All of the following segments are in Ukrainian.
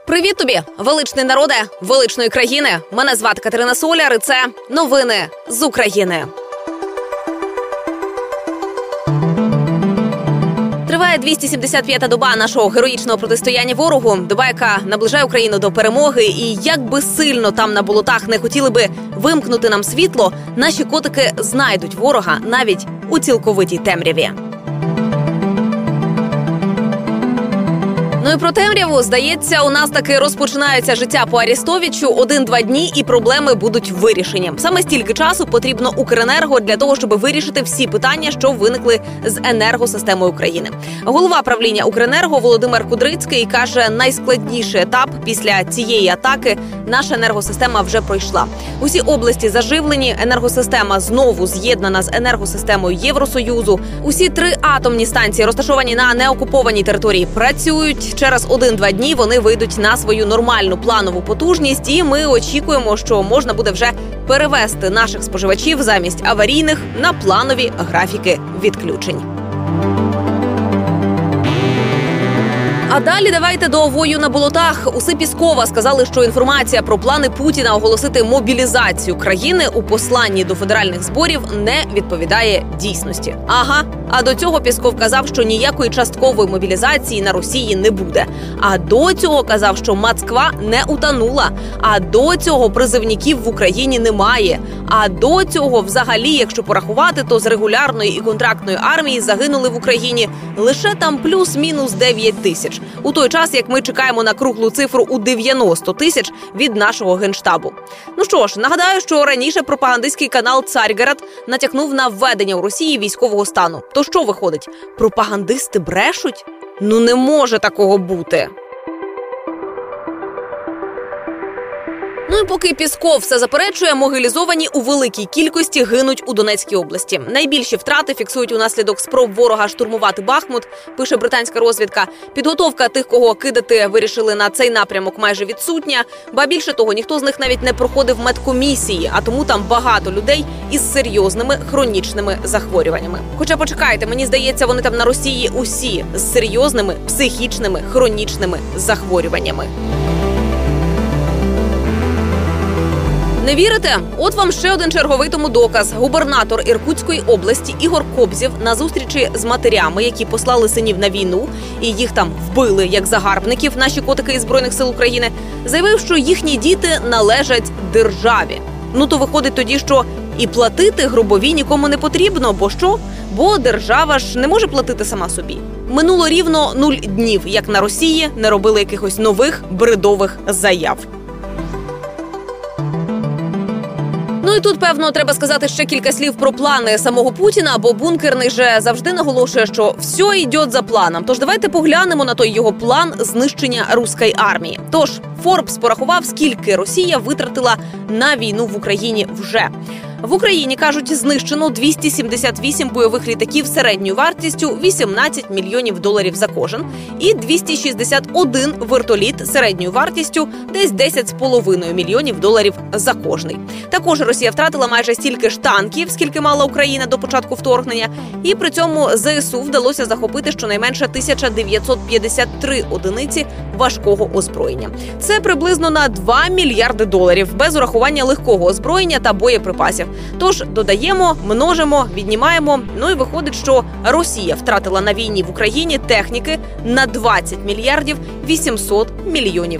Привіт тобі, величний народе, величної країни. Мене звати Катерина Соляр, і це новини з України. Триває 275-та доба нашого героїчного протистояння ворогу. Доба, яка наближає Україну до перемоги. І як би сильно там на болотах не хотіли би вимкнути нам світло, наші котики знайдуть ворога навіть у цілковитій темряві. Ну і про темряву, здається, у нас таки розпочинається життя по Арестовичу. 1-2 дні і проблеми будуть вирішені. Саме стільки часу потрібно Укренерго для того, щоб вирішити всі питання, що виникли з енергосистемою України. Голова правління Укренерго Володимир Кудрицький каже, найскладніший етап після цієї атаки наша енергосистема вже пройшла. Усі області заживлені, енергосистема знову з'єднана з енергосистемою Євросоюзу. Усі 3 атомні станції, розташовані на неокупованій території, працюють. Через 1-2 дні вони вийдуть на свою нормальну планову потужність, і ми очікуємо, що можна буде вже перевести наших споживачів замість аварійних на планові графіки відключень. А далі давайте до вою на болотах. Уси Піскова сказали, що інформація про плани Путіна оголосити мобілізацію країни у посланні до федеральних зборів не відповідає дійсності. Ага, а до цього Пісков казав, що ніякої часткової мобілізації на Росії не буде. А до цього казав, що Москва не утонула. А до цього призивників в Україні немає. А до цього взагалі, якщо порахувати, то з регулярної і контрактної армії загинули в Україні лише там плюс-мінус 9 тисяч. У той час, як ми чекаємо на круглу цифру у 90 тисяч від нашого Генштабу. Ну що ж, нагадаю, що раніше пропагандистський канал «Царьгород» натякнув на введення у Росії військового стану. То що виходить? Пропагандисти брешуть? Ну не може такого бути. Ну і поки Пісков все заперечує, могилізовані у великій кількості гинуть у Донецькій області. Найбільші втрати фіксують унаслідок спроб ворога штурмувати Бахмут, пише британська розвідка. Підготовка тих, кого кидати вирішили на цей напрямок, майже відсутня. Ба більше того, ніхто з них навіть не проходив медкомісії, а тому там багато людей із серйозними хронічними захворюваннями. Хоча почекайте, мені здається, вони там на Росії усі з серйозними психічними хронічними захворюваннями. Не вірите? От вам ще один черговий тому доказ. Губернатор Іркутської області Ігор Кобзєв на зустрічі з матерями, які послали синів на війну, і їх там вбили як загарбників наші котики із Збройних сил України, заявив, що їхні діти належать державі. Ну то виходить тоді, що і платити гробові нікому не потрібно, бо що? Бо держава ж не може платити сама собі. Минуло рівно 0 днів, як на Росії не робили якихось нових бредових заяв. Ну і тут, певно, треба сказати ще кілька слів про плани самого Путіна, бо бункерний же завжди наголошує, що все йде за планом. Тож давайте поглянемо на той його план знищення руської армії. Тож, Forbes порахував, скільки Росія витратила на війну в Україні вже. В Україні, кажуть, знищено 278 бойових літаків середньою вартістю $18 мільйонів за кожен і 261 вертоліт середньою вартістю десь $10,5 мільйонів за кожний. Також Росія втратила майже стільки ж танків, скільки мала Україна до початку вторгнення, і при цьому ЗСУ вдалося захопити щонайменше 1953 одиниці важкого озброєння. Це приблизно на $2 мільярди без урахування легкого озброєння та боєприпасів. Тож додаємо, множимо, віднімаємо, ну і виходить, що Росія втратила на війні в Україні техніки на $20 мільярдів 800 мільйонів.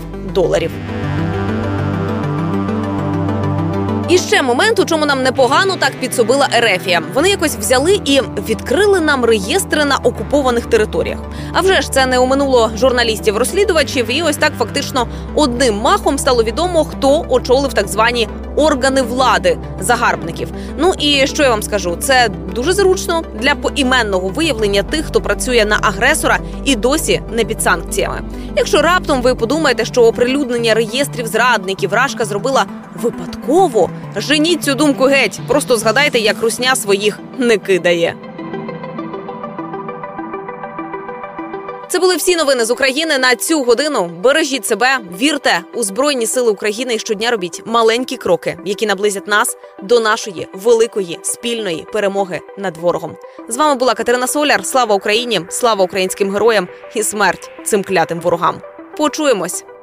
І ще момент, у чому нам непогано так підсобила Ерефія. Вони якось взяли і відкрили нам реєстри на окупованих територіях. А вже ж це не оминуло журналістів-розслідувачів, і ось так фактично одним махом стало відомо, хто очолив так звані органи влади загарбників. Ну і що я вам скажу, це дуже зручно для поіменного виявлення тих, хто працює на агресора і досі не під санкціями. Якщо раптом ви подумаєте, що оприлюднення реєстрів зрадників Рашка зробила випадково, женіть цю думку геть. Просто згадайте, як русня своїх не кидає. Це були всі новини з України на цю годину. Бережіть себе, вірте у Збройні Сили України і щодня робіть маленькі кроки, які наблизять нас до нашої великої спільної перемоги над ворогом. З вами була Катерина Соляр. Слава Україні, слава українським героям і смерть цим клятим ворогам. Почуємось!